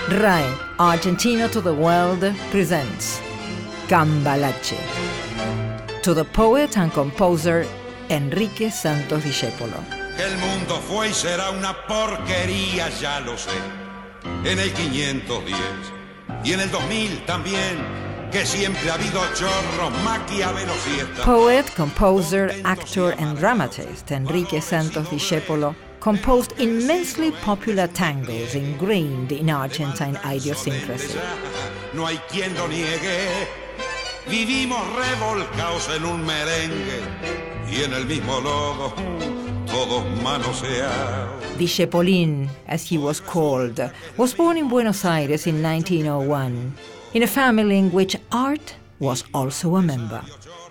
RAE, Argentina to the World, presents Cambalache, to the poet and composer Enrique Santos Discépolo. Que el mundo fue y será una porquería, ya lo sé. En el 510 y en el 2000 también, que siempre ha habido chorros, maquiavelos y estas. Poet, composer, actor and dramatist Enrique Santos Discépolo composed immensely popular tangos ingrained in Argentine idiosyncrasy. No hay quien lo niegue. Vivimos revolcados en un merengue y en el mismo lodo, todos manoseados. Discepolín, as he was called, was born in Buenos Aires in 1901, in a family in which art was also a member.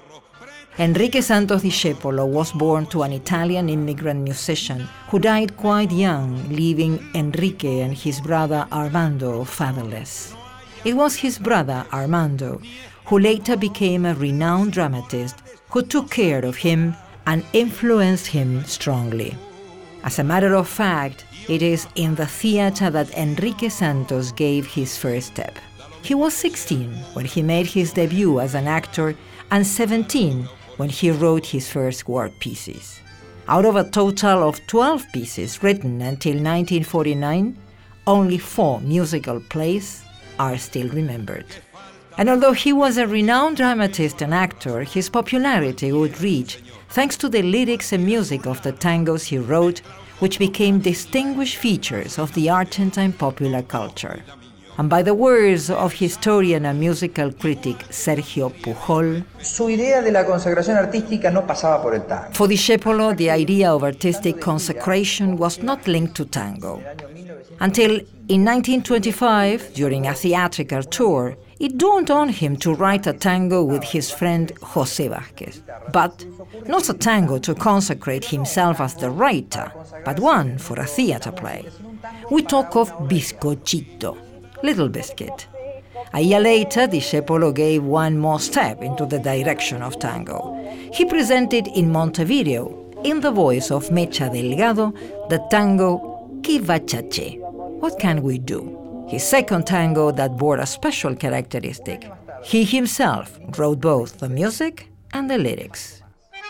Enrique Santos Discépolo was born to an Italian immigrant musician who died quite young, leaving Enrique and his brother Armando fatherless. It was his brother Armando who later became a renowned dramatist who took care of him and influenced him strongly. As a matter of fact, it is in the theater that Enrique Santos gave his first step. He was 16 when he made his debut as an actor and 17 when he wrote his first work pieces. Out of a total of 12 pieces written until 1949, only 4 musical plays are still remembered. And although he was a renowned dramatist and actor, his popularity would reach thanks to the lyrics and music of the tangos he wrote, which became distinguished features of the Argentine popular culture. And by the words of historian and musical critic Sergio Pujol, su idea de la consagración artística no pasaba por el tango. For Discépolo, the idea of artistic consecration was not linked to tango. Until in 1925, during a theatrical tour, it dawned on him to write a tango with his friend José Vázquez. But not a tango to consecrate himself as the writer, but one for a theater play. We talk of Bizcochito, Little Biscuit. A year later, Discépolo gave one more step into the direction of tango. He presented in Montevideo, in the voice of Mecha Delgado, the tango Que va Chaché, What Can We Do? His second tango that bore a special characteristic. He himself wrote both the music and the lyrics.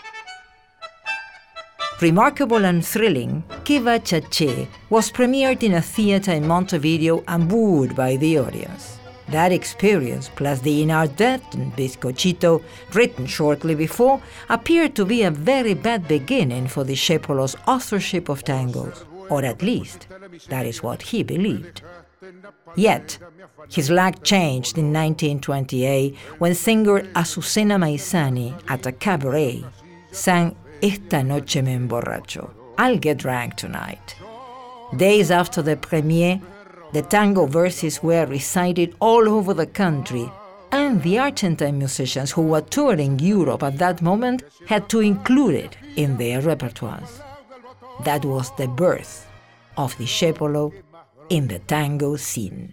Remarkable and thrilling, Que va Chaché was premiered in a theater in Montevideo and booed by the audience. That experience, plus the inadvertent Bizcochito, written shortly before, appeared to be a very bad beginning for Discépolo's authorship of tangos, or at least, that is what he believed. Yet, his luck changed in 1928 when singer Azucena Maizani, at a cabaret, sang Esta noche me emborracho, I'll get drunk tonight. Days after the premiere, the tango verses were recited all over the country, and the Argentine musicians who were touring Europe at that moment had to include it in their repertoires. That was the birth of Discépolo in the tango scene.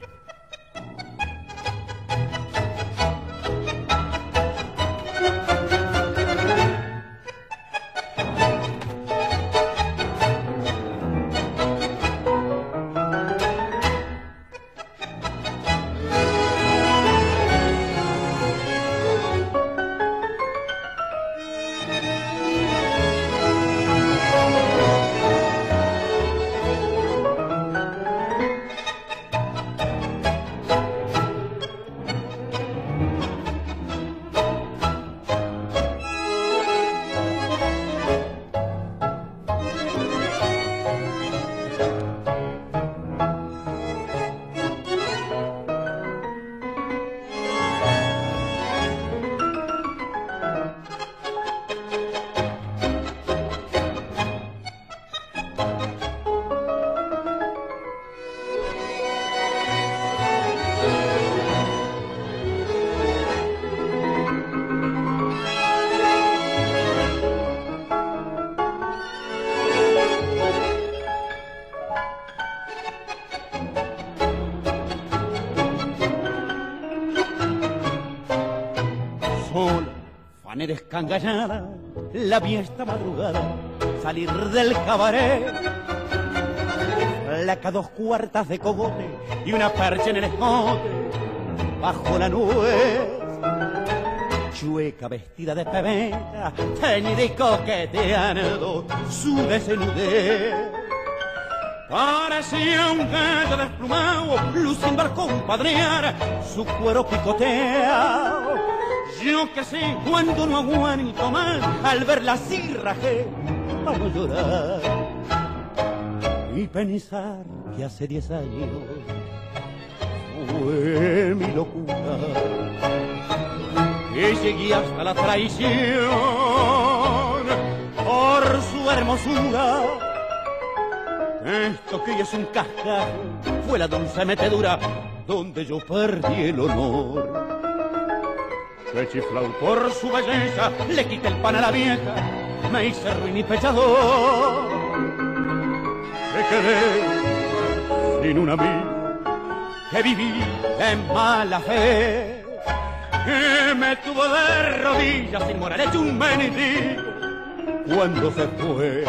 manera escangallada, la vi esta madrugada salir del cabaret. flaca 2 cuartas de cogote y una percha en el escote bajo la nuez. Chueca vestida de pebeta, teñida y coqueteando su desnudez. Parecía un gallo desplumado, luciendo al compadrear su cuero picoteado. Yo que sé cuando no aguanto más, al verla así rajé para no llorar y pensar que hace 10 años fue mi locura. Y llegué hasta la traición por su hermosura. Esto que es un cascajo fue la dulce metedura donde yo perdí el honor. Que chiflao por su belleza, le quité el pan a la vieja, me hice ruin y pechador. Me quedé sin un amigo, que viví en mala fe, que me tuvo de rodillas sin moral hecho un mendigo cuando se fue.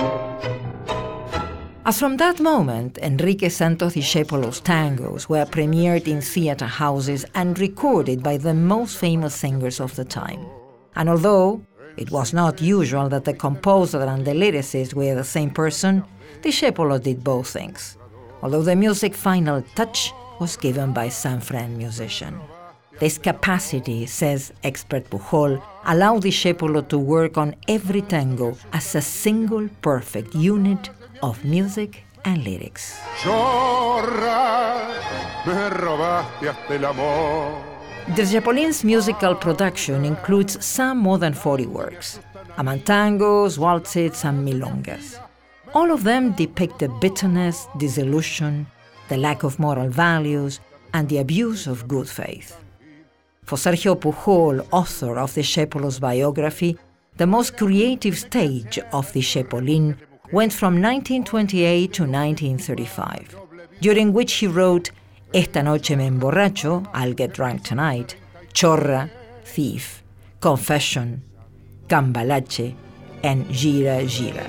As from that moment, Enrique Santos Discépolo's tangos were premiered in theater houses and recorded by the most famous singers of the time. And although it was not usual that the composer and the lyricist were the same person, Discépolo did both things, although the music's final touch was given by San Fran musician. This capacity, says expert Pujol, allowed Discépolo to work on every tango as a single perfect unit of music and lyrics. Chorra, me robaste hasta el amor. Discépolin's musical production includes some more than 40 works, among tangos, waltzes, and milongas. All of them depict the bitterness, disillusion, the lack of moral values, and the abuse of good faith. For Sergio Pujol, author of Discépolo's biography, the most creative stage of Discépolin went from 1928 to 1935, during which he wrote Esta noche me emborracho, I'll get drunk tonight, Chorra, Thief, Confession, Cambalache, and Gira Gira.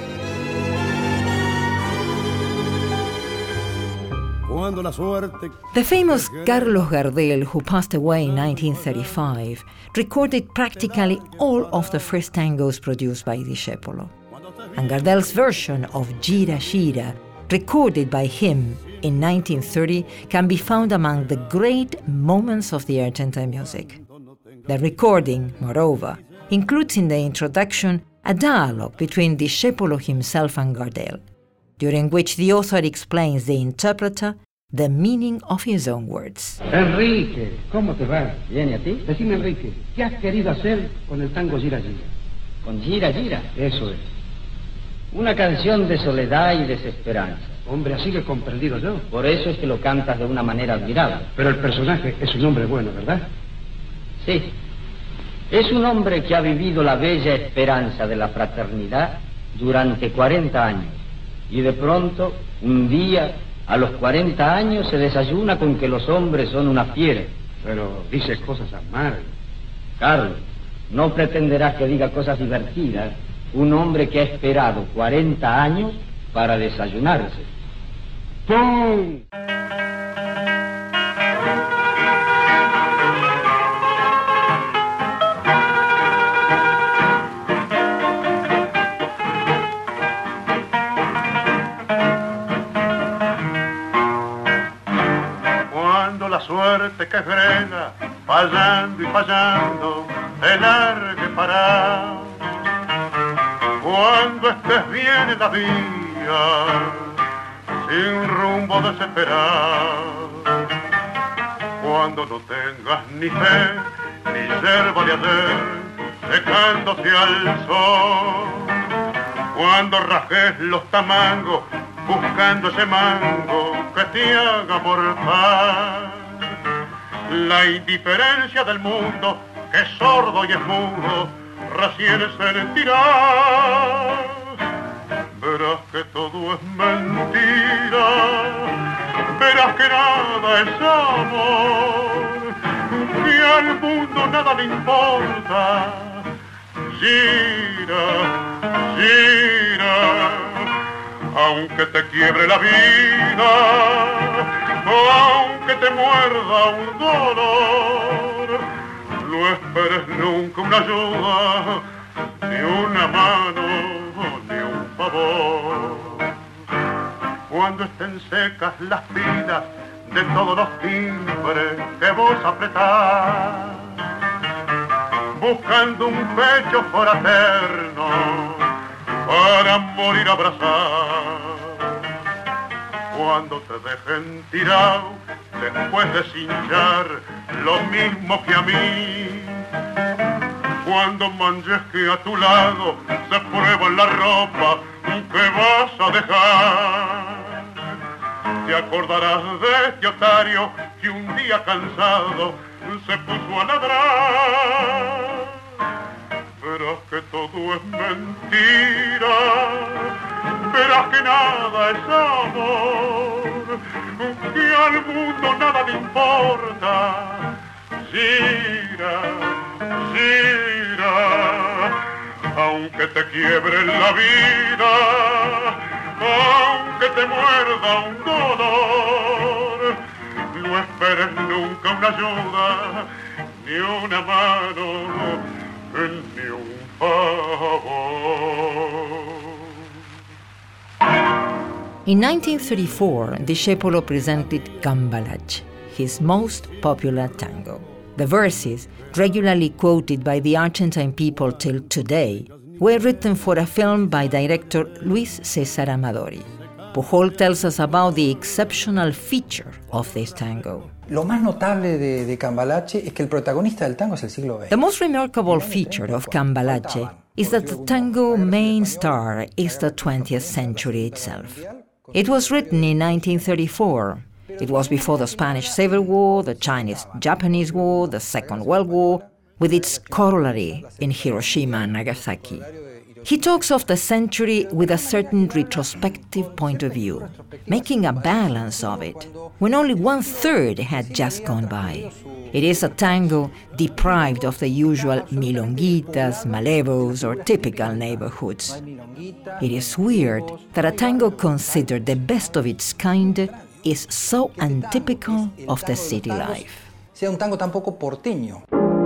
The famous Carlos Gardel, who passed away in 1935, recorded practically all of the first tangos produced by Discépolo. And Gardel's version of Gira Gira, recorded by him in 1930, can be found among the great moments of the Argentine music. The recording, moreover, includes in the introduction a dialogue between Discépolo himself and Gardel, during which the author explains the interpreter the meaning of his own words. Enrique, ¿cómo te va? Bien, ¿y a ti? Decime, Enrique, ¿qué has querido hacer con el tango Gira Gira? ¿Con Gira Gira? Eso es. Una canción de soledad y desesperanza. Hombre, así lo he comprendido yo. Por eso es que lo cantas de una manera admirable. Pero el personaje es un hombre bueno, ¿verdad? Sí. Es un hombre que ha vivido la bella esperanza de la fraternidad durante 40 años. Y de pronto, un día, a los 40 años, se desayuna con que los hombres son una fiera. Pero dices cosas amargas. Carlos, no pretenderás que diga cosas divertidas. Un hombre que ha esperado 40 años para desayunarse. ¡Pum! Cuando la suerte que frena, fallando y fallando, te largue para. Cuando estés bien en la vía, sin rumbo desesperado, cuando no tengas ni fe, ni yerba de ayer, secándose al sol, cuando rajes los tamangos, buscando ese mango que te haga mortal, la indiferencia del mundo, que es sordo y es mudo, recién sentirás, verás que todo es mentira, verás que nada es amor, que al mundo nada le importa. Gira, gira, aunque te quiebre la vida, o aunque te muerda un dolor, no esperes nunca una ayuda, ni una mano, ni un favor. Cuando estén secas las pilas de todos los timbres que vos apretás, buscando un pecho fraterno para morir abrazado. Cuando te dejen tirado después de cinchar lo mismo que a mí, cuando manches que a tu lado se prueba la ropa que vas a dejar, te acordarás de este otario que un día cansado se puso a ladrar. Verás que todo es mentira, verás que nada es amor, que al mundo nada le importa. Gira, gira, aunque te quiebre la vida, aunque te muerda un dolor, no esperes nunca una ayuda, ni una mano, ni un favor. In 1934, Discepolo presented Cambalache, his most popular tango. The verses, regularly quoted by the Argentine people till today, were written for a film by director Luis César Amadori. Pujol tells us about the exceptional feature of this tango. Lo más notable de Cambalache es que el protagonista del tango es el siglo XX. The most remarkable feature of Cambalache is that the tango main star is the 20th century itself. It was written in 1934. It was before the Spanish Civil War, the Chinese-Japanese War, the Second World War, with its corollary in Hiroshima and Nagasaki. He talks of the century with a certain retrospective point of view, making a balance of it, when only 1/3 had just gone by. It is a tango deprived of the usual milonguitas, malevos, or typical neighborhoods. It is weird that a tango considered the best of its kind is so untypical of the city life. Sea un tango tan poco porteño.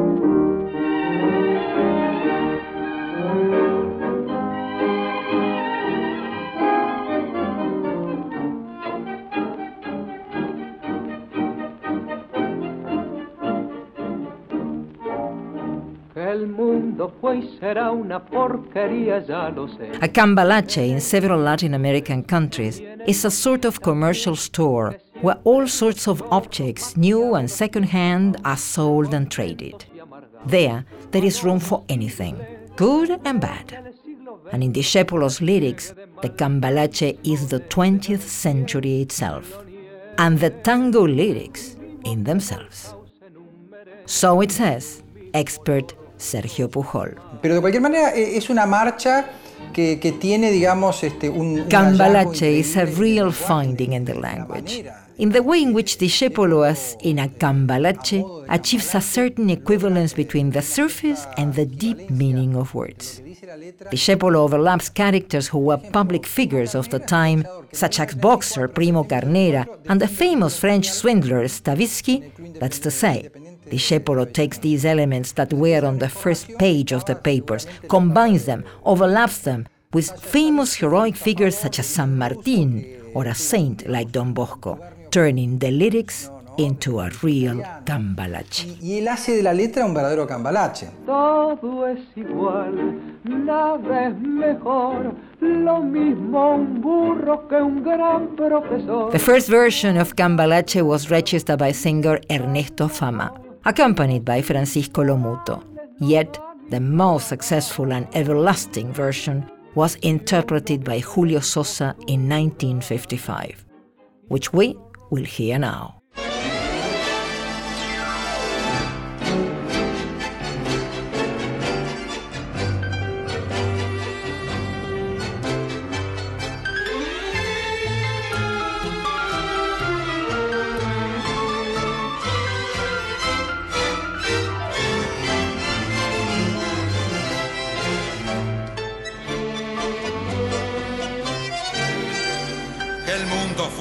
El mundo fue y será una porquería, ya lo sé. A cambalache in several Latin American countries is a sort of commercial store where all sorts of objects, new and second-hand, are sold and traded. There is room for anything, good and bad. And in Discepolo's lyrics, the cambalache is the 20th century itself, and the tango lyrics in themselves. So it says, expert Sergio Pujol. Pero de cualquier manera es una marcha que tiene, digamos, un Cambalache is a real finding in the language, in the way in which Discepolo, as in a cambalache, achieves a certain equivalence between the surface and the deep meaning of words. Discepolo overlaps characters who were public figures of the time, such as boxer Primo Carnera and the famous French swindler Stavisky. That's to say, Discepolo takes these elements that were on the first page of the papers, combines them, overlaps them with famous heroic figures such as San Martín or a saint like Don Bosco, turning the lyrics into a real cambalache. Y él hace de la letra un verdadero cambalache. Todo es igual, nada es mejor, lo mismo un burro que un gran profesor. The first version of cambalache was registered by singer Ernesto Fama, accompanied by Francisco Lomuto. Yet, the most successful and everlasting version was interpreted by Julio Sosa in 1955, which we will hear now.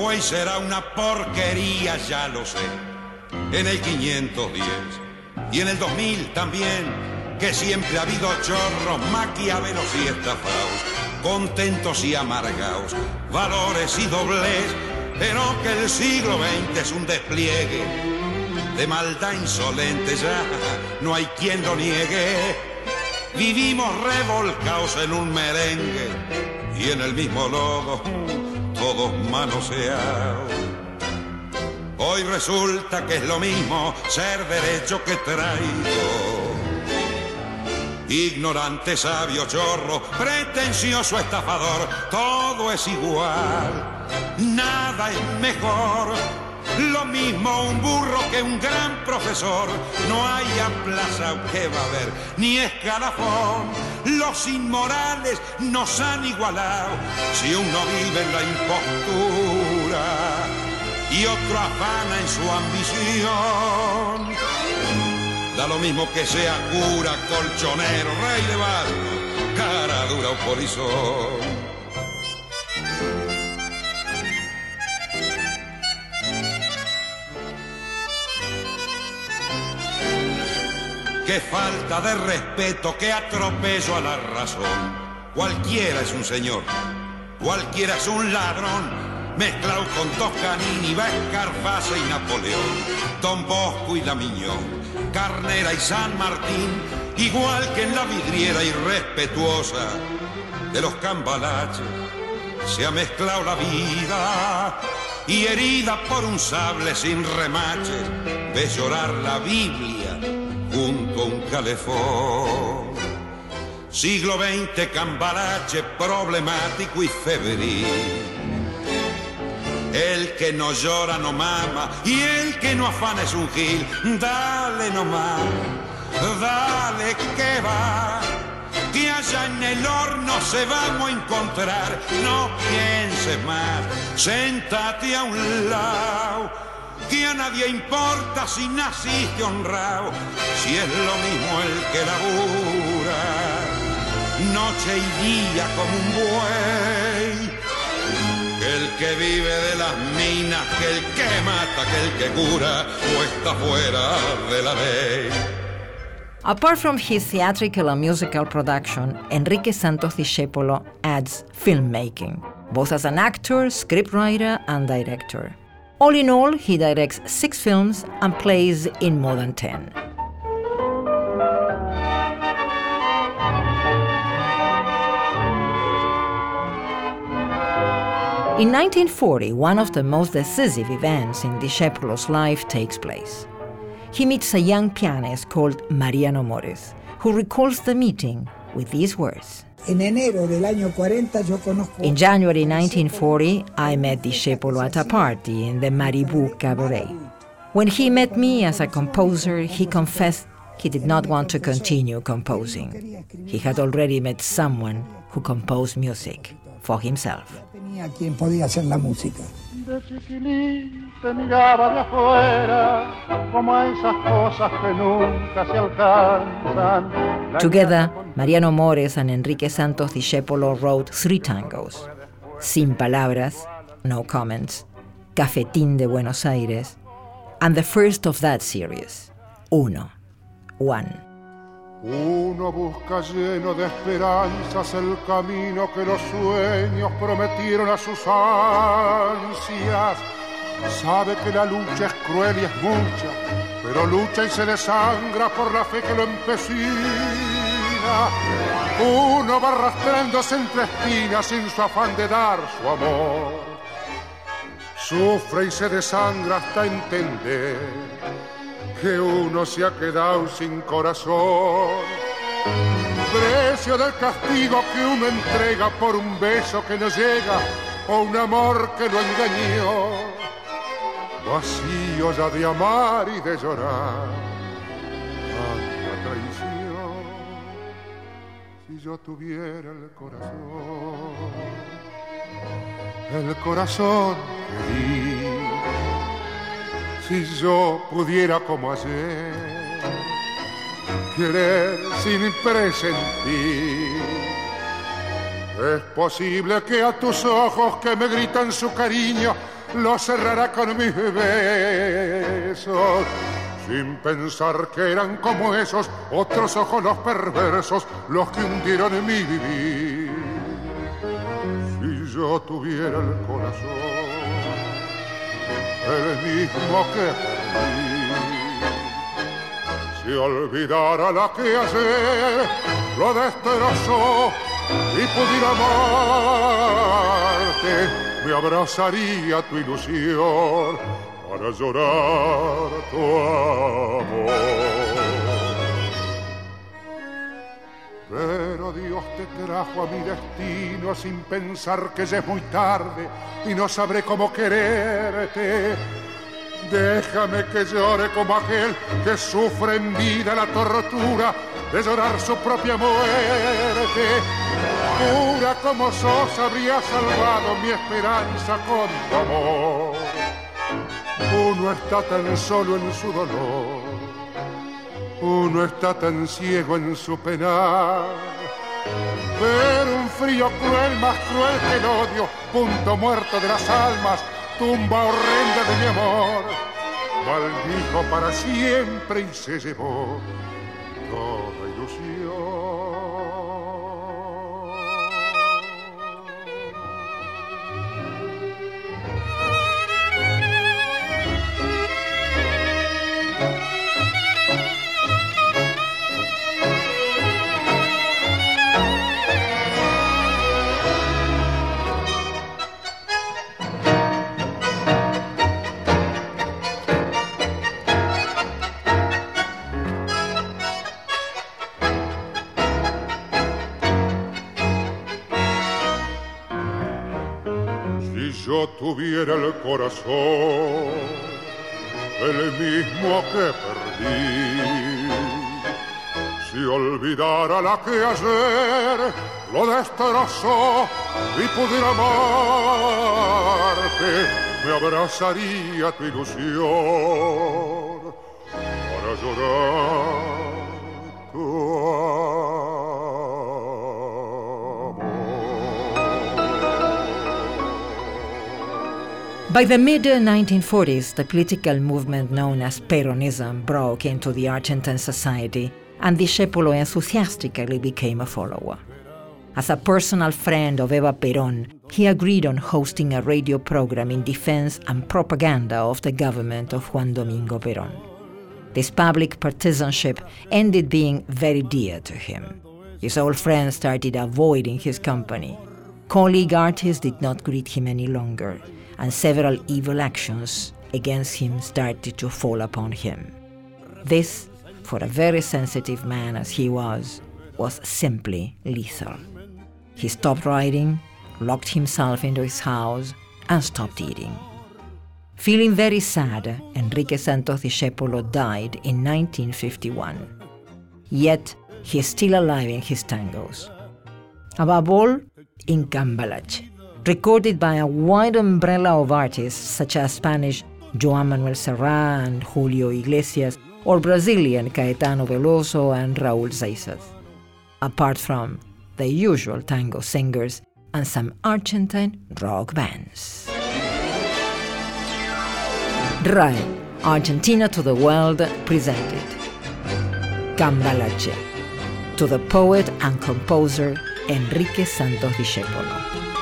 fue y será una porquería, ya lo sé. En el 510 y en el 2000 también, que siempre ha habido chorros, maquiavelos y estafados, contentos y amargados, valores y doblez, pero que el siglo XX es un despliegue de maldad insolente, ya no hay quien lo niegue. Vivimos revolcados en un merengue y en el mismo lodo, todos manoseados. Hoy resulta que es lo mismo ser derecho que traidor. Ignorante, sabio, chorro, pretencioso, estafador, todo es igual, nada es mejor. Lo mismo un burro que un gran profesor, no hay aplazado que va a haber, ni escalafón. Los inmorales nos han igualado, si uno vive en la impostura y otro afana en su ambición. Da lo mismo que sea cura, colchonero, rey de barco, cara dura o polizón. Qué falta de respeto, qué atropello a la razón. Cualquiera es un señor, cualquiera es un ladrón, mezclado con Toscanini, Escarface y Napoleón, Don Bosco y Damiñón, Carnera y San Martín, igual que en la vidriera irrespetuosa de los cambalaches, se ha mezclado la vida y herida por un sable sin remaches, ves llorar la Biblia junto a un calefón. Siglo XX, cambalache problemático y febril. El que no llora no mama y el que no afana es un gil. Dale nomás, dale que va, que allá en el horno se vamos a encontrar. No pienses más, séntate a un lado, que a nadie importa si naciste honrado, si es lo mismo el que labura noche y día como un buey, que el que vive de las minas, que el que mata, que el que cura, o está fuera de la ley. Apart from his theatrical and musical production, Enrique Santos Discépolo adds filmmaking, both as an actor, scriptwriter, and director. All in all, he directs 6 films and plays in more than 10. In 1940, one of the most decisive events in Discépolo's life takes place. He meets a young pianist called Mariano Mores, who recalls the meeting with these words. En enero del año 40 yo conozco... In January 1940, I met Discépolo at a party in the Maribou Cabaret. When he met me as a composer, he confessed he did not want to continue composing. He had already met someone who composed music for himself. Tenía quien podía hacer la música. De chiquilín te miraba de afuera, como a esas cosas que nunca se alcanzan. Together, Mariano Mores and Enrique Santos Discépolo wrote 3 tangos: Sin Palabras, No Comments, Cafetín de Buenos Aires, and the first of that series, Uno, One. Uno busca lleno de esperanzas el camino que los sueños prometieron a sus ansias. Sabe que la lucha es cruel y es mucha, pero lucha y se desangra por la fe que lo empecina. Uno va arrastrándose entre espinas sin su afán de dar su amor. Sufre y se desangra hasta entender que uno se ha quedado sin corazón. Precio del castigo que uno entrega por un beso que no llega o un amor que lo engañó. Vacío ya de amar y de llorar. Tanta traición. Si yo tuviera el corazón que di. Si yo pudiera como ayer querer sin presentir, es posible que a tus ojos que me gritan su cariño lo cerrará con mis besos, sin pensar que eran como esos otros ojos los perversos los que hundieron en mi vivir. Si yo tuviera el corazón, el mismo que perdí, si olvidara la que ayer lo destrozó y pudiera amarte, me abrazaría tu ilusión para llorar tu amor. Pero Dios te trajo a mi destino sin pensar que ya es muy tarde y no sabré cómo quererte. Déjame que llore como aquel que sufre en vida la tortura de llorar su propia muerte. Pura como sos, habría salvado mi esperanza con tu amor. Uno está tan solo en su dolor, uno está tan ciego en su penar. Pero un frío cruel, más cruel que el odio, punto muerto de las almas, tumba horrenda de mi amor, maldijo para siempre y se llevó toda ilusión. Yo tuviera el corazón, el mismo que perdí, si olvidara la que ayer lo destrozó y pudiera amarte, me abrazaría tu ilusión para llorar tu amor. By the mid-1940s, the political movement known as Peronism broke into the Argentine society, and Discepolo enthusiastically became a follower. As a personal friend of Eva Perón, he agreed on hosting a radio program in defense and propaganda of the government of Juan Domingo Perón. This public partisanship ended being very dear to him. His old friends started avoiding his company. Colleague artists did not greet him any longer, and several evil actions against him started to fall upon him. This, for a very sensitive man as he was simply lethal. He stopped writing, locked himself into his house, and stopped eating. Feeling very sad, Enrique Santos Discepolo died in 1951. Yet, he is still alive in his tangos. Above all, in Cambalache, recorded by a wide umbrella of artists such as Spanish Joan Manuel Serrat and Julio Iglesias, or Brazilian Caetano Veloso and Raúl Seixas, apart from the usual tango singers and some Argentine rock bands. RAE, Argentina to the World, presented Cambalache, to the poet and composer Enrique Santos Discepolo.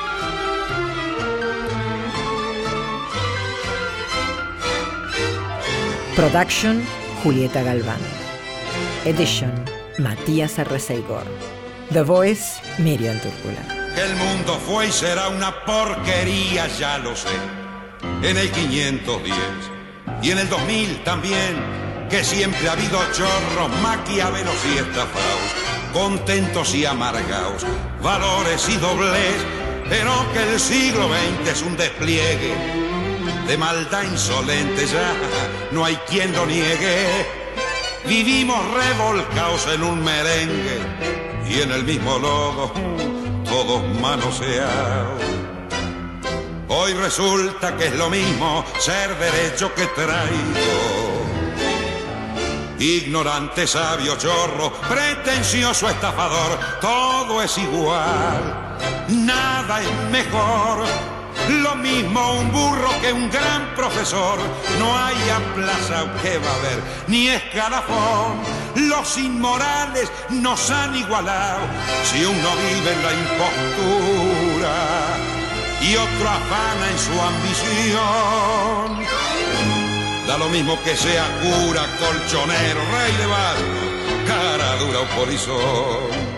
Production, Julieta Galván. Edition, Matías Arreceigor. The Voice, Miriam Túrcula. Que el mundo fue y será una porquería, ya lo sé. En el 510 y en el 2000 también, que siempre ha habido chorros, maquiavelos y estafaos, contentos y amargaos, valores y doblez, pero que el siglo XX es un despliegue de maldad insolente, ya no hay quien lo niegue. Vivimos revolcados en un merengue y en el mismo lodo, todos manoseados. Hoy resulta que es lo mismo ser derecho que traidor. Ignorante, sabio, chorro, pretencioso, estafador, todo es igual, nada es mejor. lo mismo un burro que un gran profesor. No hay plaza que va a haber, ni escalafón. Los inmorales nos han igualado. Si uno vive en la impostura y otro afana en su ambición, da lo mismo que sea cura, colchonero, rey de barco, cara dura o polizón.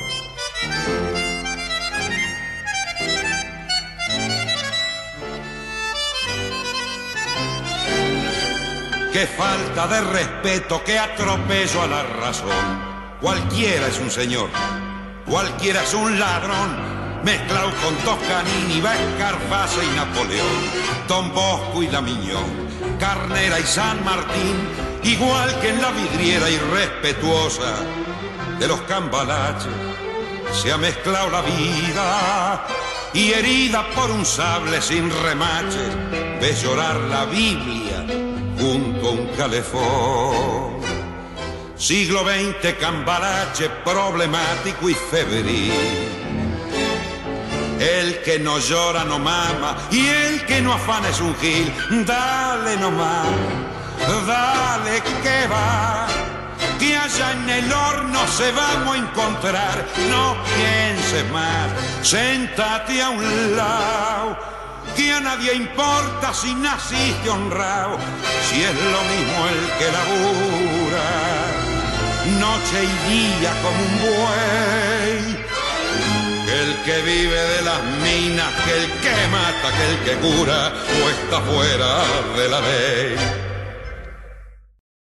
Qué falta de respeto, qué atropello a la razón. Cualquiera es un señor, cualquiera es un ladrón, mezclado con Toscanini, Escarface y Napoleón, Don Bosco y Lamiñón, Carnera y San Martín, igual que en la vidriera irrespetuosa de los cambalaches, se ha mezclado la vida y herida por un sable sin remaches, ves llorar la Biblia junto a un calefón. Siglo XX, cambalache problemático y febril. El que no llora no mama y el que no afana es un gil. Dale nomás, dale que va, que allá en el horno se vamos a encontrar. No pienses más, séntate a un lado, que a nadie importa si naciste honrado, si es lo mismo el que labura noche y día como un buey, que el que vive de las minas, que el que mata, que el que cura o está fuera de la ley.